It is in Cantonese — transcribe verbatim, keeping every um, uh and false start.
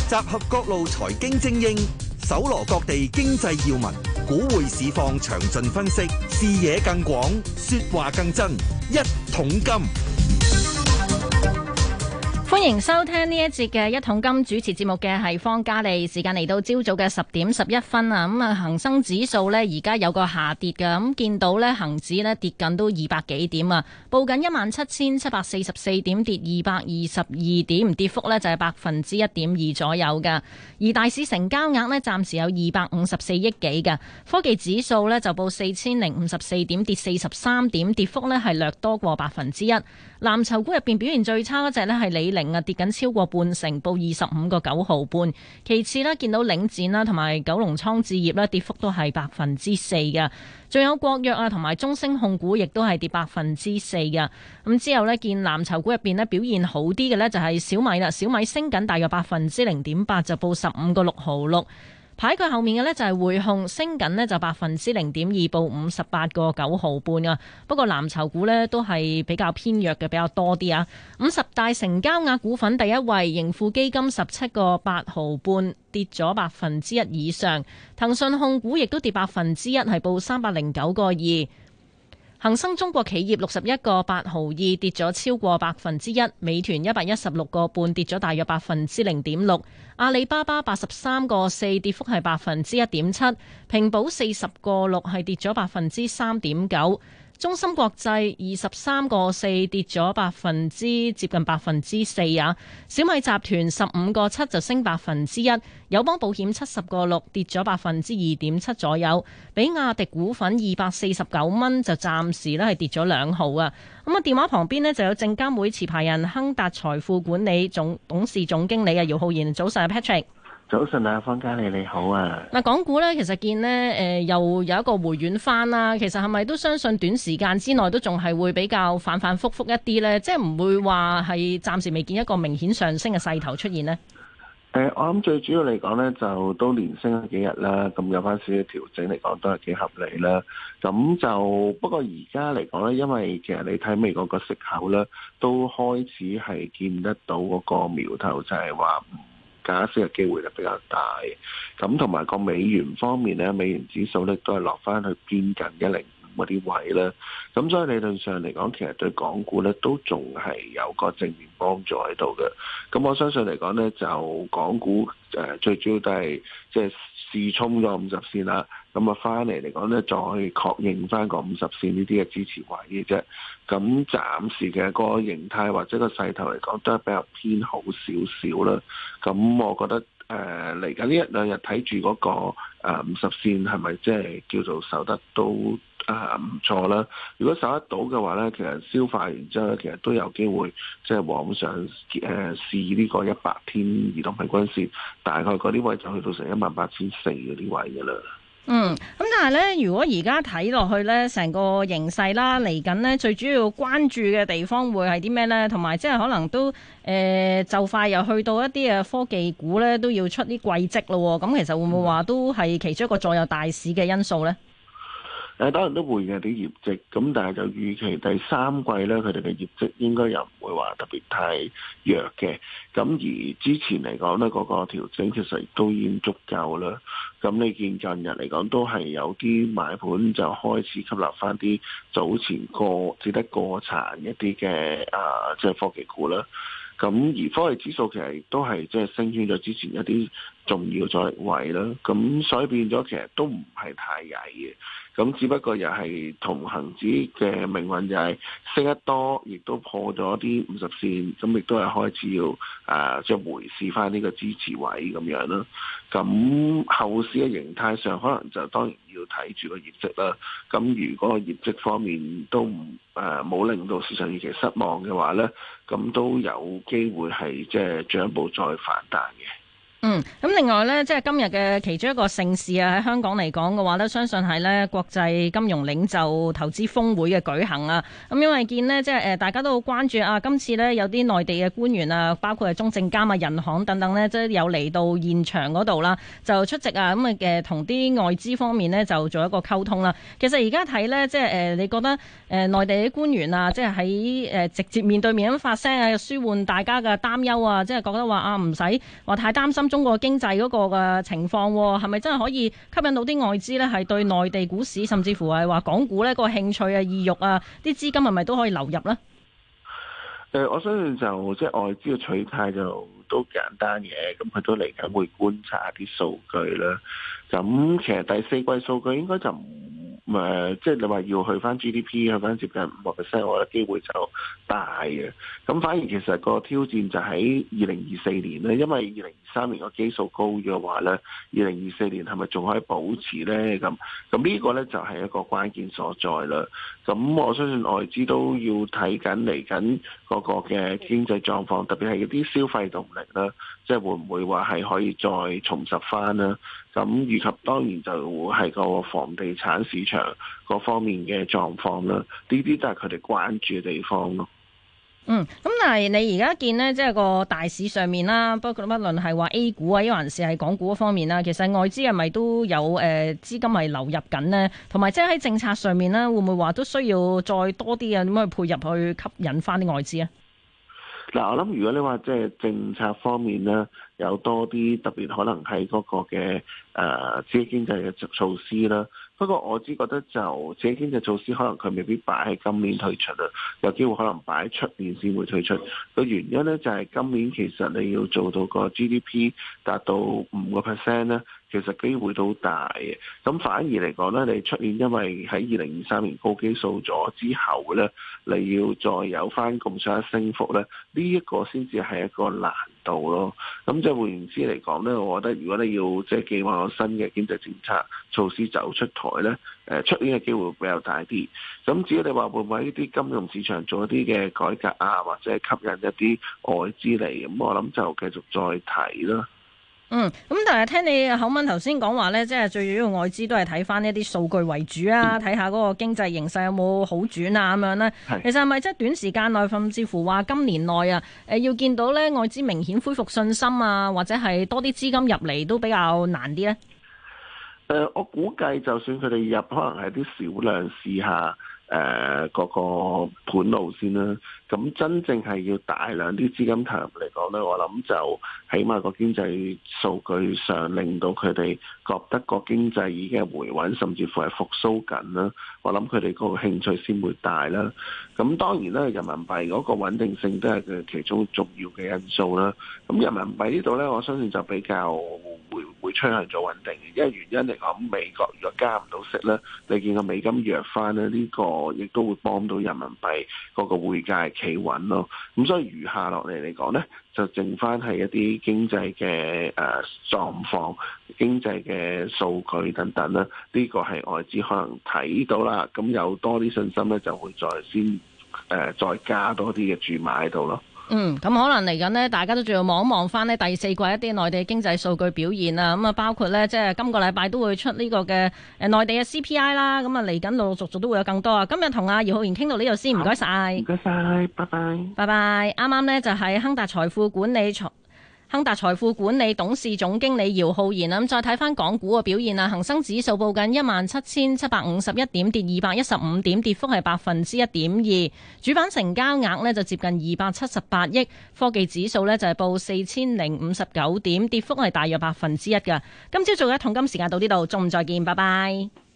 集合各路財經精英，搜羅各地經濟要聞，股匯市況詳盡分析，視野更廣，說話更真。一桶金， 歡迎收聽呢一節嘅一桶金，主持節目嘅係方嘉利。時間嚟到朝早嘅十點十一分啊，咁啊恒生指數呢而家有個下跌嘅，咁見到呢恒指呢跌緊都二百幾點啊，報緊一萬七千七百四十四點，跌二百二十二點，跌幅呢就係百分之一點二左右嘅。而大市成交額呢暫時有二百五十四億幾嘅。科技指數呢就報四千零五十四點，跌四十三點，跌幅呢係略多過百分之一。藍籌股入邊表現最差嗰隻呢係李寧啊，跌緊超過半成，報二十五個九毫半。其次呢，見到領展啦同埋九龍倉置業呢跌幅都係百分之四嘅。仲有國藥啊同埋中升控股亦都係跌百分之四嘅。咁之後呢，見藍籌股入邊呢表現好啲嘅呢就係小米啦，小米升緊大約百分之零點八，就報十五個六毫六。排佢後面嘅呢就係匯控，升緊呢就百分之零點二，報五十八個九毫半啊。不過藍籌股呢都係比較偏弱嘅，比較多啲啊。五十大成交額股份第一位盈富基金十七個八毫半，跌咗百分之一以上。騰訊控股亦都跌百分之一，係報三百零九個二。恒生中國企業六十一個八毫二，跌咗超過百分之一。美團一百一十六個半，跌咗大約百分之零點六。阿里巴巴八十三個四，跌幅係百分之一點七。平保四十個六，係跌咗百分之三點九。中芯國際二十三個四，跌咗百分之接近百分之四啊。小米集團十五個七，就升百分之一。友邦保險七十個六，跌咗百分之二點七左右。比亞迪股份二百四十九蚊，就暫時咧係跌咗兩毫啊。咁啊，電話旁邊呢就有證監會持牌人亨達財富管理總董事總經理啊姚浩然。早晨 Patrick。 早晨啊，方嘉利你好啊！ 嗱，港股咧其實見呢誒、呃、又有一個回軟翻啦。其實係咪都相信短時間之內都仲係會比較反反覆覆一啲呢？即係唔會話係暫時未見一個明顯上升嘅勢頭出現呢？ 誒、呃，我諗最主要嚟講呢，就都連升咗幾日啦，咁有翻少少調整嚟講都係幾合理啦。咁就不過而家嚟講呢，因為其實你睇美國個息口呢，都開始係見得到嗰個苗頭，就係話加息嘅機會就比較大，咁同埋個美元方面咧，美元指數咧都係落翻去偏近一零五嗰啲位啦，咁所以理論上嚟講，其實對港股咧都仲係有個正面幫助喺度嘅。咁我相信嚟講咧，就港股誒、呃、最主要都係即係試衝咗五十線啦，咁啊翻嚟嚟講咧，再確認翻個五十線呢啲嘅支持位嘅啫。咁暫時嘅個形態或者個勢頭嚟講，都係比較偏好少少啦。咁我覺得誒嚟緊呢一兩日睇住嗰個誒五十線係咪即係叫做守得都誒唔錯啦。如果守得到嘅話咧，其實消化完之後咧，其實都有機會即係往上誒試呢個一百天移動平均線，大概嗰啲位就去到成一萬八千四嗰啲位㗎啦。 嗯，咁但係咧，如果而家睇落去咧，成個形勢啦，嚟緊呢最主要關注嘅地方會係啲咩咧？同埋即係可能都誒、呃、就快又去到一啲嘅科技股咧，都要出啲季績咯。咁其實會唔會話都係其中一個左右大市嘅因素咧？ 誒當然都會嘅啲業績，咁但係就預期第三季咧，佢哋嘅業績應該又唔會話特別太弱嘅。咁而之前嚟講咧，嗰個調整其實都已經足夠啦。咁你見近日嚟講都係有啲買盤就開始吸納翻啲早前過只得過殘一啲嘅啊，即係科技股啦。咁而科技指數其實亦都係即係升穿咗之前一啲重要阻力位啦。咁所以變咗其實都唔係太曳嘅。咁只不過又係同恒指嘅命運就係升得多，亦都破咗啲五十線，咁亦都係開始要誒即係回試翻呢個支持位咁樣啦。咁後市嘅形態上，可能就當然要睇住個業績啦。咁如果個業績方面都唔誒冇令到市場預期失望嘅話咧，咁都有機會係即係進一步再反彈嘅。 嗯，咁另外呢，即係今日嘅其中一個盛事啊，喺香港嚟講嘅話呢，相信係呢國際金融領袖投資峰會嘅舉行啊。咁因為見呢，即係誒大家都好關注啊，今次呢，有啲內地嘅官員啊，包括係中證監啊、人行等等呢，即係有嚟到現場嗰度啦，就出席啊，咁啊嘅同啲外資方面呢，就做一個溝通啦。其實而家睇呢，即係誒你覺得誒內地啲官員啊，即係喺誒直接面對面咁發聲啊，舒緩大家嘅擔憂啊，即係覺得話啊唔使話太擔心心中國經濟嗰個嘅情況，係咪真係可以吸引到啲外資咧？係對內地股市，甚至乎係話港股咧個興趣啊、意欲啊，啲資金係咪都可以流入咧？ 誒、呃，我相信就即係外資嘅取態就都簡單嘅，咁佢都嚟緊會觀察一啲數據啦。咁其實第四季數據應該就唔誒，即係你話要去翻 G D P 去翻接近五個 percent，我覺得機會就大嘅。咁反而其實個挑戰就喺二零二四年咧，因為二零二三年個基數高嘅話咧，二零二四年係咪仲可以保持咧？咁咁呢個咧就係一個關鍵所在啦。咁我相信外資都要睇緊嚟緊嗰個嘅經濟狀況，特別係一啲消費動力啦，即係會唔會話係可以再重拾翻啦？咁以及當然就係個房地產市場嗰方面嘅狀況啦，呢啲都係佢哋關注嘅地方咯。 嗯，咁但係你而家見呢，即係個大市上面啦，不過不論係話 A 股啊，抑還是係港股嗰方面啦，其實外資係咪都有誒資金係流入緊呢？同埋即係喺政策上面呢，會唔會話都需要再多啲啊？點樣去配入去吸引翻啲外資啊？ 嗱，我諗如果你話即係政策方面咧，有多啲特別可能係嗰個嘅誒刺激經濟嘅措施啦。不過我只覺得就刺激經濟措施，可能佢未必擺喺今年推出啊，有機會可能擺喺出年先會推出。個原因咧就係今年其實你要做到個 G D P 達到五個 percent 咧，其實機會都大嘅。咁反而嚟講咧，你出年因為喺二零二三年高基數咗之後咧，你要再有翻咁上下升幅咧，呢一個先至係一個難度咯。咁即係換言之嚟講咧，我覺得如果你要即係計劃個新嘅經濟政策措施走出台咧，誒出年嘅機會會比較大啲。咁至於你話會唔會喺呢啲金融市場做一啲嘅改革啊，或者係吸引一啲外資嚟，咁我諗就繼續再睇啦。 嗯，咁但係聽你口吻頭先講話咧，即係最主要外資都係睇翻一啲數據為主啊，睇下嗰個經濟形勢有冇好轉啊咁樣咧。 是其實係咪即係短時間內，甚至乎話今年內啊，誒要見到咧外資明顯恢復信心啊，或者係多啲資金入嚟都比較難啲咧？ 誒、呃，我估計就算佢哋入，可能係啲少量試下誒嗰、呃、個盤路先啦。咁真正係要大量啲資金投入嚟講咧，我諗就起碼個經濟數據上令到佢哋覺得個經濟已經係回穩，甚至乎係復甦緊啦。我諗佢哋嗰個興趣先會大啦。咁當然啦，人民幣嗰個穩定性都係佢其中重要嘅因素啦。咁人民幣呢度咧，我相信就比較會會趨向咗穩定嘅，因為原因嚟講，美國如果加唔到息咧，你見個美金弱翻咧，呢個亦都會幫到人民幣嗰個匯價企穩咯。咁所以餘下落嚟嚟講咧，就剩翻係一啲經濟嘅誒狀況、經濟嘅數據等等啦。呢個係外資可能睇到啦，咁有多啲信心咧，就會再先誒、呃、再加多啲嘅注碼喺度咯。 嗯，咁可能嚟緊呢，大家都仲要望一望翻呢第四季一啲內地經濟數據表現啊，咁啊包括呢，即係今個禮拜都會出呢個嘅誒內地嘅 C P I 啦，咁啊嚟緊陸陸續續都會有更多啊。今日同阿姚浩然傾到呢度先，唔該晒， 唔該晒，拜拜， 拜拜。啱啱呢，就係亨達財富管理財。亨達財富管理董事總經理姚浩然啊，咁再睇翻港股嘅表現啊，恒生指數報緊一萬七千七百五十一點，跌二百一十五點，跌幅係百分之一點二。主板成交額呢就接近二百七十八億，科技指數呢就係報四千零五十九點，跌幅係大約百分之一㗎。今朝早嘅一桶金時間到呢度，中午再見，拜拜。